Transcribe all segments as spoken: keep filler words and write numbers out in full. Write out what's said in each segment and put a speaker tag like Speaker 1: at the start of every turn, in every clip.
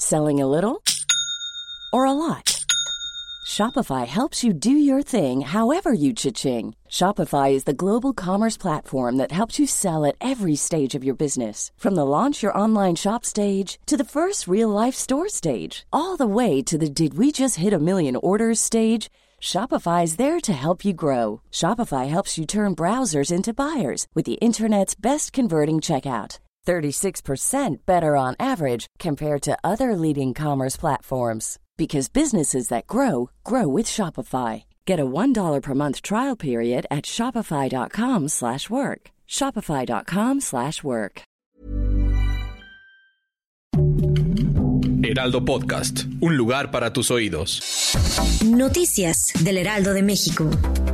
Speaker 1: Selling a little or a lot? Shopify helps you do your thing however you cha-ching. Shopify is the global commerce platform that helps you sell at every stage of your business. From the launch your online shop stage to the first real-life store stage, all the way to the did we just hit a million orders stage. Shopify is there to help you grow. Shopify helps you turn browsers into buyers with the internet's best converting checkout. thirty-six percent better on average compared to other leading commerce platforms. Because businesses that grow, grow with Shopify. Get a one dollar per month trial period at shopify.com slash work. Shopify.com slash work.
Speaker 2: Heraldo Podcast, un lugar para tus oídos.
Speaker 3: Noticias del Heraldo de México.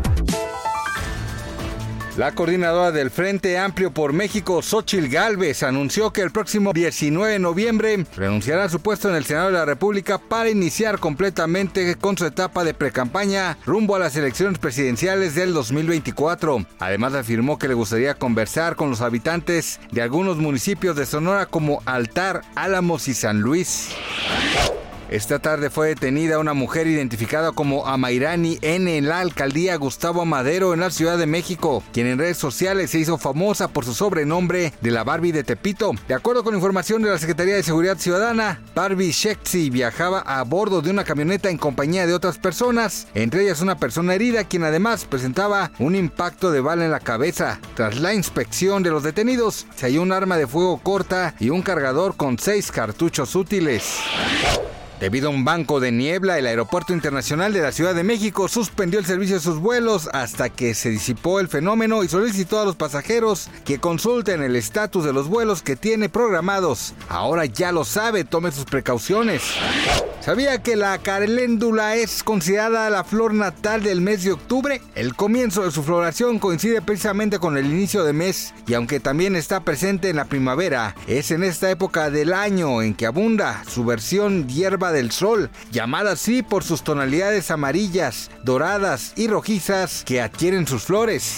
Speaker 4: La coordinadora del Frente Amplio por México, Xóchitl Gálvez, anunció que el próximo diecinueve de noviembre renunciará a su puesto en el Senado de la República para iniciar completamente con su etapa de precampaña rumbo a las elecciones presidenciales del dos mil veinticuatro. Además, afirmó que le gustaría conversar con los habitantes de algunos municipios de Sonora como Altar, Álamos y San Luis. Esta tarde fue detenida una mujer identificada como Amairani N. en la alcaldía Gustavo Amadero en la Ciudad de México, quien en redes sociales se hizo famosa por su sobrenombre de la Barbie de Tepito. De acuerdo con información de la Secretaría de Seguridad Ciudadana, Barbie Shexi viajaba a bordo de una camioneta en compañía de otras personas, entre ellas una persona herida, quien además presentaba un impacto de bala en la cabeza. Tras la inspección de los detenidos, se halló un arma de fuego corta y un cargador con seis cartuchos útiles. Debido a un banco de niebla, el Aeropuerto Internacional de la Ciudad de México suspendió el servicio de sus vuelos hasta que se disipó el fenómeno y solicitó a los pasajeros que consulten el estatus de los vuelos que tiene programados. Ahora ya lo sabe, tome sus precauciones. ¿Sabía que la caléndula es considerada la flor natal del mes de octubre? El comienzo de su floración coincide precisamente con el inicio de mes y aunque también está presente en la primavera, es en esta época del año en que abunda su versión hierba del sol, llamada así por sus tonalidades amarillas, doradas y rojizas que adquieren sus flores.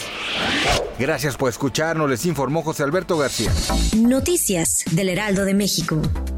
Speaker 4: Gracias por escucharnos, les informó José Alberto García.
Speaker 3: Noticias del Heraldo de México.